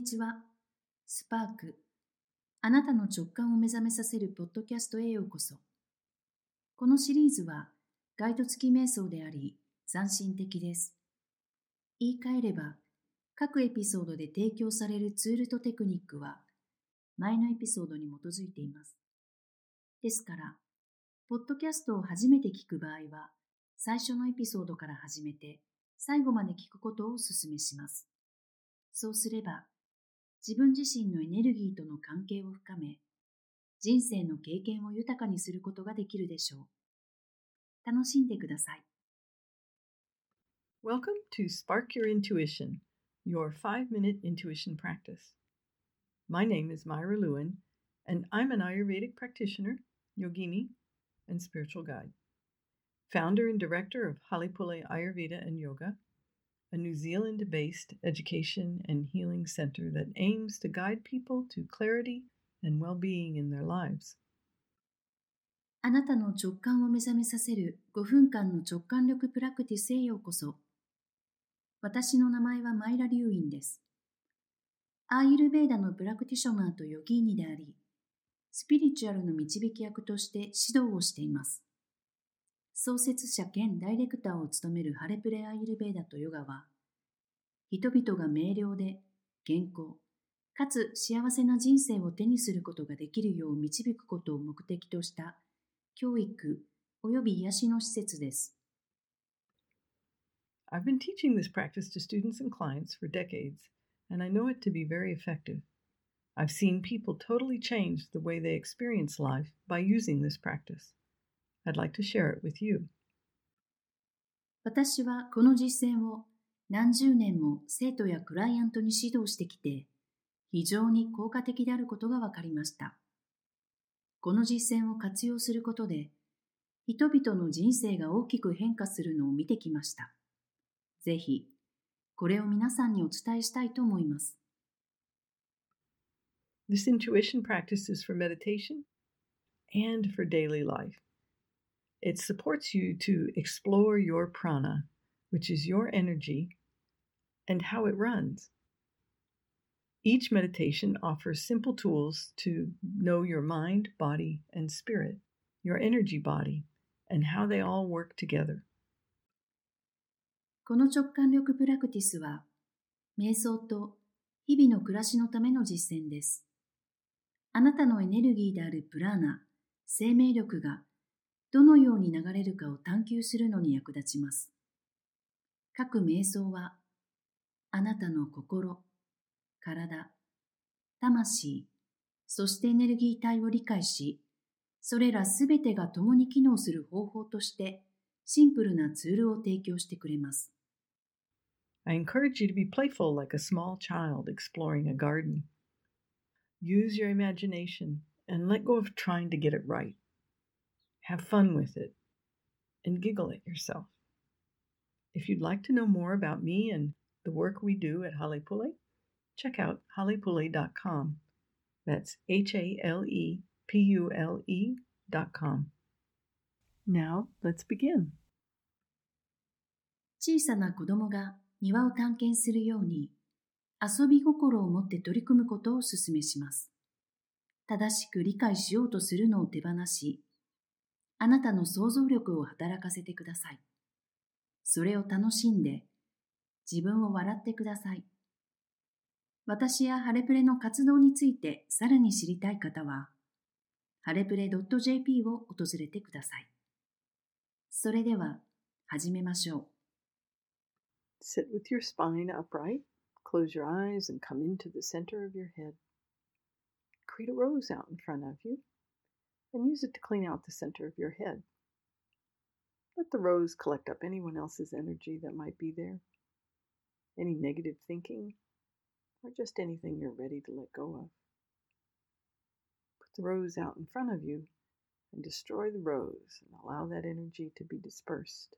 にちは。スパーク。あなたの直感を目覚めさせるポッドキャストへようこそ。このシリーズはガイド付き瞑想であり、斬新的です。言い換えれば、各エピソードで提供されるツールとテクニックは、前のエピソードに基づいています。ですから、ポッドキャストを初めて聞く場合は、最初のエピソードから始めて、最後まで聞くことをお勧めします。そうすれば、自分自身のエネルギーとの関係を深め、人生の経験を豊かにすることができるでしょう。楽しんでください。 Welcome to Spark Your Intuition, your 5-minute intuition practice. My name is Myra Lewin, and I'm an Ayurvedic practitioner, yogini, and spiritual guide. Founder and director of Halipule Ayurveda and Yoga, a New Zealand-based education and healing center that aims to guide people to clarity and well-being in their lives. あなたの直感を目覚めさせる5分間の直感力プラクティスへようこそ。私の名前はマイラ・リュウインです。アーユルベーダのプラクティショナーとヨギーニであり、スピリチュアルの導き役として指導をしています。創設者兼ダイレクターを務めるハレプレアーユルベーダとヨガは、人々が明瞭で健康、かつ幸せな人生を手にすることができるよう導くことを目的とした教育及び癒しの施設です。 I've been teaching this practice to students and clients for decades, and I know it to be very effective. I've seen people totally change the way they experience life by using this practice. I'd like to share it with you. 私はこの実践を何十年も生徒やクライアントに指導してきて、非常に効果的であることが分かりました。この実践を活用することで、人々の人生が大きく変化するのを見てきました。ぜひ、これを皆さんにお伝えしたいと思います。 This intuition practice is for meditation and for daily life. It supports you to explore your prana, which is your energy, and how it runs. Each meditation offers simple tools to know your mind, body, and spirit, your energy body, and how they all work together. この直感力プラクティスは、瞑想と日々の暮らしのための実践です。あなたのエネルギーであるプラーナ、生命力がどのように流れるかを探求するのに役立ちます。各瞑想は、あなたの心、体、魂、そしてエネルギー体を理解し、それらすべてが共に機能する方法としてシンプルなツールを提供してくれます。 I encourage you to be playful like a small child exploring a garden. Use your imagination and let go of trying to get it right. Have fun with it and giggle at yourself. If you'd like to know more about me and the work we do at Halipule, check out halipule.com. That's HALEPULE.com. Now, let's begin. 小さな子供が庭を探検するように、遊び心を持って取り組むことをお勧めします。正しく理解しようとするのを手放し、あなたの想像力を働かせてください。それを楽しんで、自分を笑ってください。私やハレプレの活動についてさらに知りたい方は、ハレプレ .jp を訪れてください。それでは、始めましょう。 Sit with your spine upright, close your eyes, and come into the center of your head. Create a rose out in front of you, and use it to clean out the center of your head. Let the rose collect up anyone else's energy that might be there, any negative thinking, or just anything you're ready to let go of. Put the rose out in front of you and destroy the rose and allow that energy to be dispersed.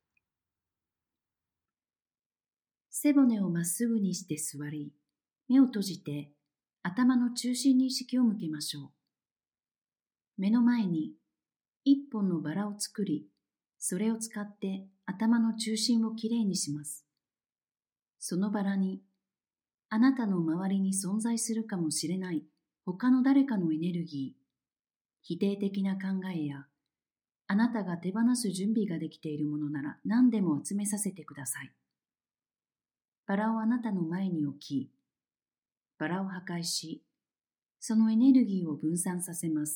背骨をまっすぐにして座り、目を閉じて頭の中心に意識を向けましょう。目の前に一本のバラを作り、それを使って頭の中心をきれいにします。そのバラにあなたの周りに存在するかもしれない他の誰かのエネルギー、否定的な考えや、あなたが手放す準備ができているものなら何でも集めさせてください。バラをあなたの前に置き、バラを破壊し、そのエネルギーを分散させます。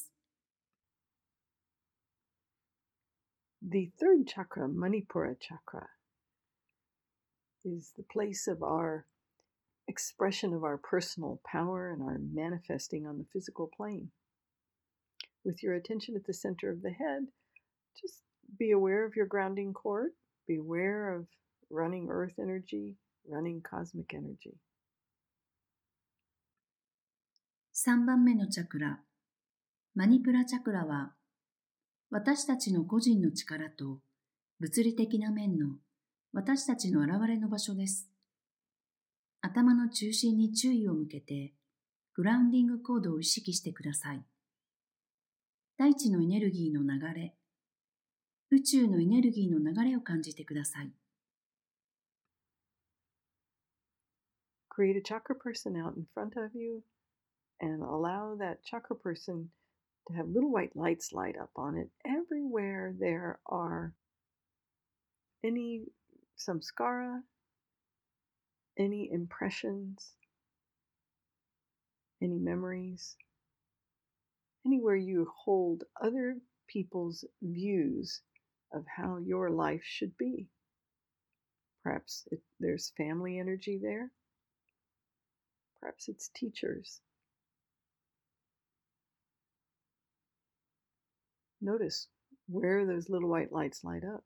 The third chakra, Manipura chakra, is the place of our expression of our personal power and our manifesting on the physical plane. With your attention at the center of the head, just be aware of your grounding cord, be aware of running earth energy, running cosmic energy. 3番目のチャクラ、マニプラチャクラは、私たちの個人の力と物理的な面の私たちの現れの場所です。頭の中心に注意を向けて、グラウンディングコードを意識してください。大地のエネルギーの流れ、宇宙のエネルギーの流れを感じてください。 Create a chakra person out in front of you and allow that chakra person to have little white lights light up on it everywhere there are any samskara, any impressions, any memories, anywhere you hold other people's views of how your life should be. Perhaps there's family energy there. Perhaps it's teachers. Notice where those little white lights light up.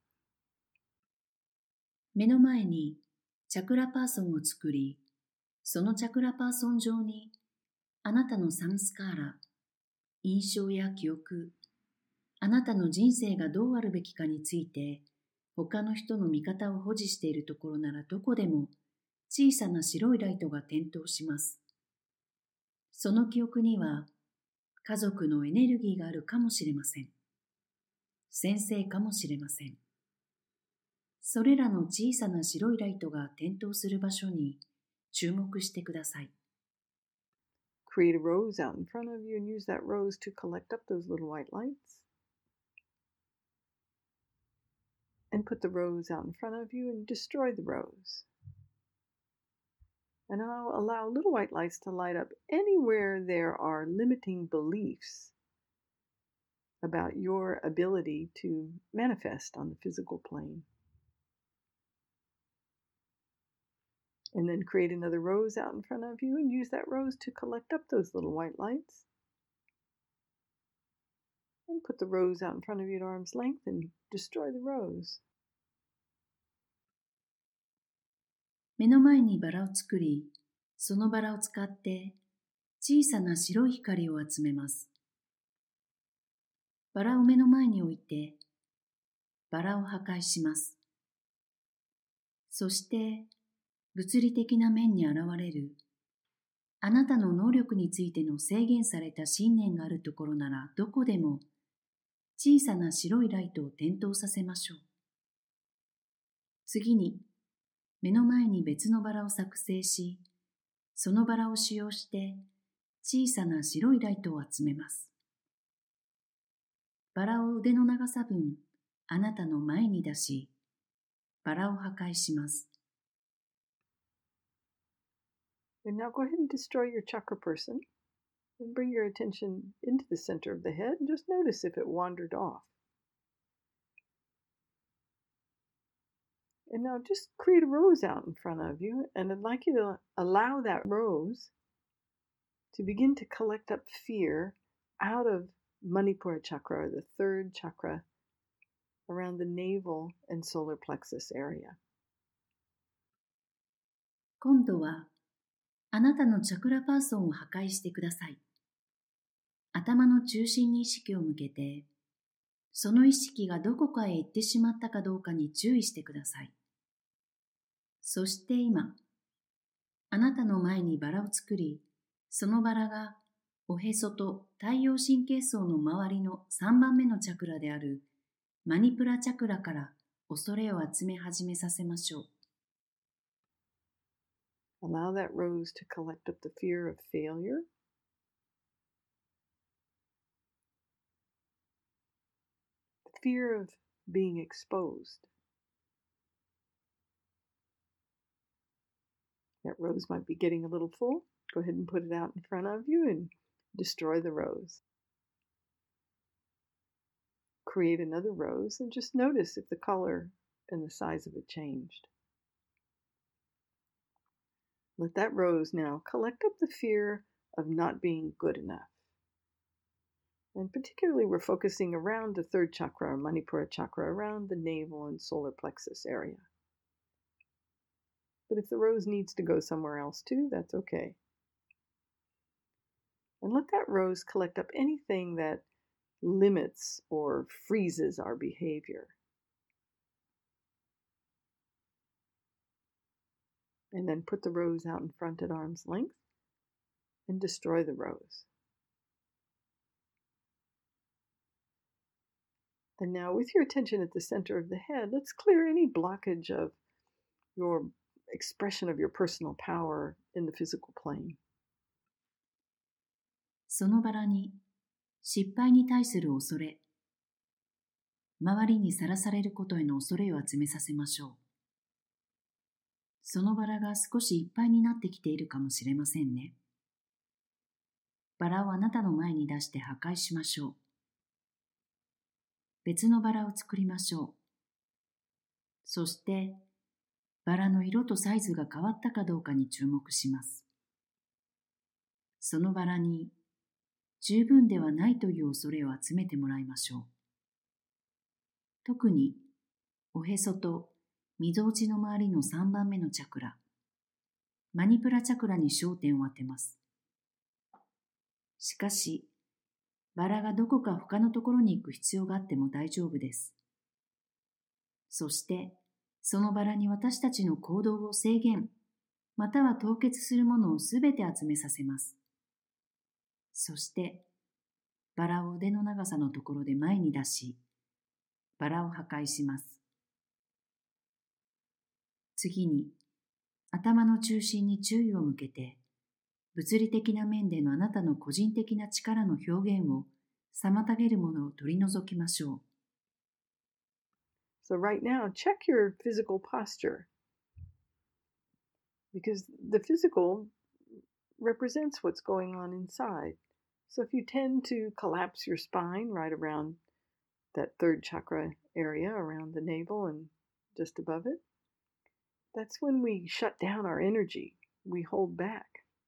目の前にチャクラパーソンを作り、そのチャクラパーソン上にあなたのサンスカーラ、印象や記憶、あなたの人生がどうあるべきかについて他の人の見方を保持しているところならどこでも小さな白いライトが点灯します。その記憶には家族のエネルギーがあるかもしれません。先生かもしれません。それらの小さな白いライトが点灯する場所に注目してください。 Create a rose out in front of you and use that rose to collect up those little white lights. And put the rose out in front of you and destroy the rose. And now allow little white lights to light up anywhere there are limiting beliefs about your ability to manifest on the physical plane. And then create another rose out in front of you and use that rose to collect up those little white lights. And put the rose out in front of you at arm's length and destroy the rose. 目の前にバラを作り、そのバラを使って小さな白い光を集めます。バラを目の前に置いて、バラを破壊します。そして、物理的な面に現れる、あなたの能力についての制限された信念があるところならどこでも小さな白いライトを点灯させましょう。次に、目の前に別のバラを作成し、そのバラを使用して小さな白いライトを集めます。バラを腕の長さ分あなたの前に出し、バラを破壊します。 And now go ahead and destroy your chakra person and bring your attention into the center of the head and just notice if it wandered off. And now just create a rose out in front of you, and I'd like you to allow that rose to begin to collect up fear out of Manipura chakra, or the third chakra, around the navel and solar plexus area. 今度はあなたのチャクラパーソンを破壊してください。頭の中心に意識を向けて、その意識がどこかへ行ってしまったかどうかに注意してください。そして今、あなたの前にバラを作り、そのバラがおへそと太陽神経層の周りの3番目のチャクラであるマニプラチャクラから恐れを集め始めさせましょう。 Allow that rose to collect up the fear of failure, the fear of being exposed. That rose might be getting a little full. Go ahead and put it out in front of you and destroy the rose. Create another rose and just notice if the color and the size of it changed. Let that rose now collect up the fear of not being good enough. And particularly we're focusing around the third chakra, or Manipura chakra, around the navel and solar plexus area. But if the rose needs to go somewhere else too, that's okay. And let that rose collect up anything that limits or freezes our behavior. And then put the rose out in front at arm's length and destroy the rose. And now with your attention at the center of the head, let's clear any blockage of your expression of your personal power in the physical plane. そのバラに失敗に対する恐れ、周りにさらされることへの恐れを集めさせましょう。そのバラが少しいっぱいになってきているかもしれませんね。バラをあなたの前に出して破壊しましょう。別のバラを作りましょう。そして、バラの色とサイズが変わったかどうかに注目します。そのバラに十分ではないという恐れを集めてもらいましょう。特に、おへそとみぞおちの周りの3番目のチャクラ、マニプラチャクラに焦点を当てます。しかし、バラがどこか他のところに行く必要があっても大丈夫です。そして、そのバラに私たちの行動を制限、または凍結するものをすべて集めさせます。そして、バラを腕の長さのところで前に出し、バラを破壊します。次に、頭の中心に注意を向けて、物理的な面でのあなたの個人的な力の表現を妨げるものを取り除きましょう。 So right now, check your physical posture. Because the physical represents what's going on inside. So if you tend to collapse your spine right around that third chakra area, around the navel and just above it, that's when we shut down our energy. We hold back.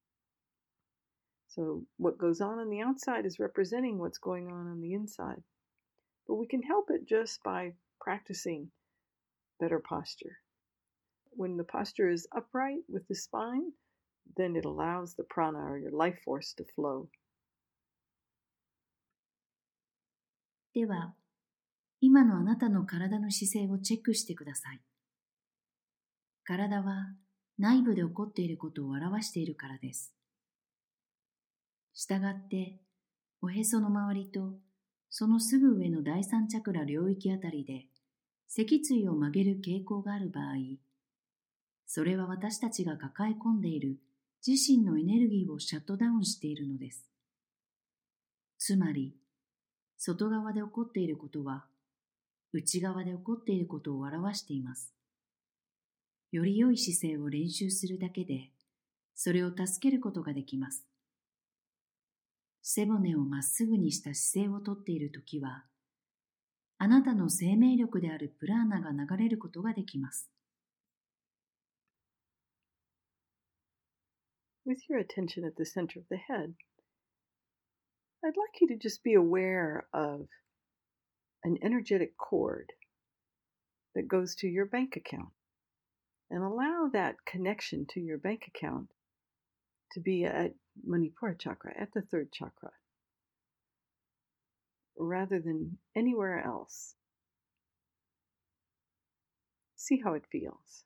So what goes on the outside is representing what's going on the inside. But we can help it just by practicing better posture. When the posture is upright with the spine, then it allows the prana or your life force to flow. では、今のあなたの体の姿勢をチェックしてください。体は内部で起こっていることを表しているからです。したがって、おへその周りとそのすぐ上の第三チャクラ領域あたりで脊椎を曲げる傾向がある場合、それは私たちが抱え込んでいる自身のエネルギーをシャットダウンしているのです。つまり、外側で起こっていることは、内側で起こっていることを表しています。より良い姿勢を練習するだけで、それを助けることができます。背骨をまっすぐにした姿勢をとっているときは、あなたの生命力であるプラーナが流れることができます。 With your attention at the center of the head, I'd like you to just be aware of an energetic cord that goes to your bank account and allow that connection to your bank account to be at Manipura chakra, at the third chakra, rather than anywhere else. See how it feels.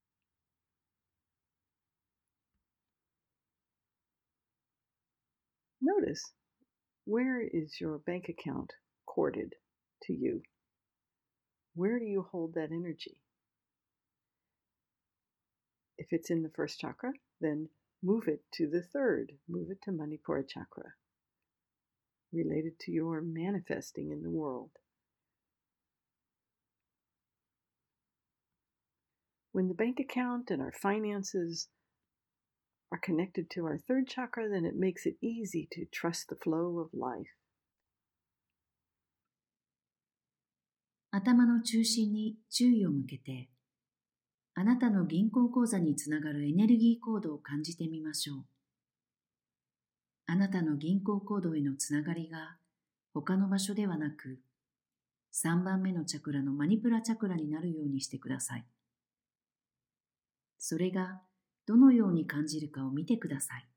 Notice, where is your bank account corded to you? Where do you hold that energy? If it's in the first chakra, Then move it to the third. Move it to Manipura chakra, related to your manifesting in the world. When the bank account and our finances are connected to our third chakra, then it makes it easy to trust the flow of life. 頭の中心に注意を向けて、あなたの銀行口座につながるエネルギーコードを感じてみましょう。あなたの銀行コードへのつながりが他の場所ではなく、3番目のチャクラのマニプラチャクラになるようにしてください。それがどのように感じるかを見てください。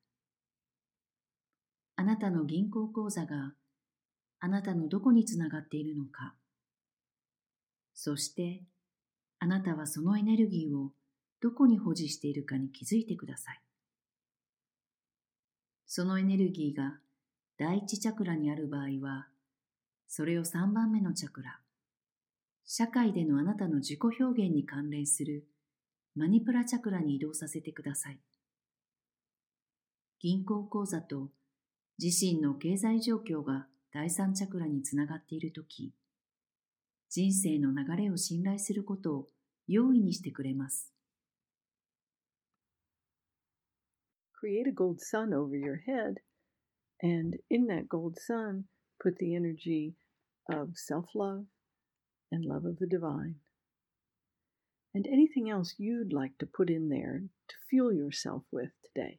あなたの銀行口座があなたのどこにつながっているのか、そしてあなたはそのエネルギーをどこに保持しているかに気づいてください。そのエネルギーが第一チャクラにある場合は、それを3番目のチャクラ、社会でのあなたの自己表現に関連するマニプラチャクラに移動させてください。銀行口座と自身の経済状況が第三チャクラにつながっているとき、人生の流れを信頼することを容易にしてくれます。 Create a gold sun over your head, and in that gold sun, put the energy of self-love and love of the divine, and anything else you'd like to put in there to fuel yourself with today.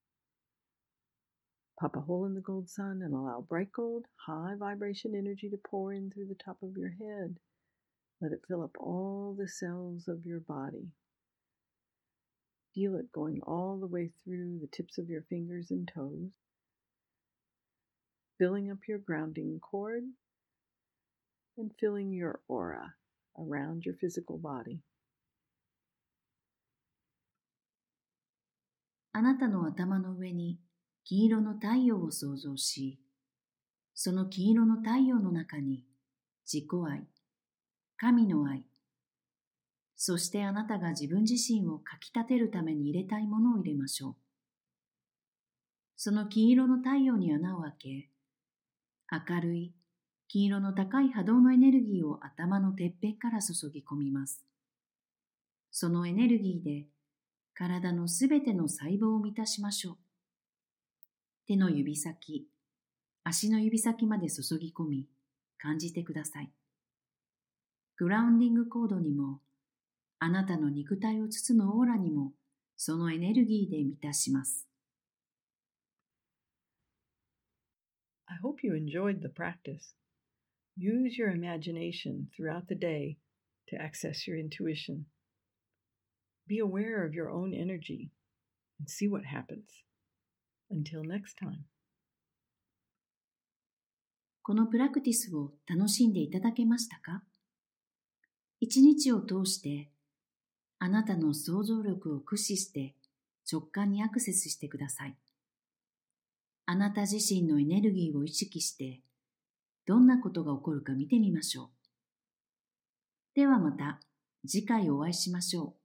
Pop a hole in the gold sun and allow bright gold, high vibration energy to pour in through the top of your head. Let it fill up all the cells of your body. Feel it going all the way through the tips of your fingers and toes, filling up your grounding cord and filling your aura around your physical body. あなたの頭の上に金色の太陽を想像し、その金色の太陽の中に自己愛、神の愛、そしてあなたが自分自身をかきたてるために入れたいものを入れましょう。その金色の太陽に穴を開け、明るい金色の高い波動のエネルギーを頭のてっぺんから注ぎ込みます。そのエネルギーで体のすべての細胞を満たしましょう。手の指先、足の指先まで注ぎ込み、感じてください。グラウンディングコードにも、あなたの肉体を包むオーラにも、そのエネルギーで満たします。 I hope you enjoyed the practice. Use your imagination throughout the day to access your intuition. Be aware of your own energy and see what happens. Until next time. このプラクティスを楽しんでいただけましたか？一日を通してあなたの想像力を駆使して直感にアクセスしてください。あなた自身のエネルギーを意識してどんなことが起こるか見てみましょう。ではまた次回お会いしましょう。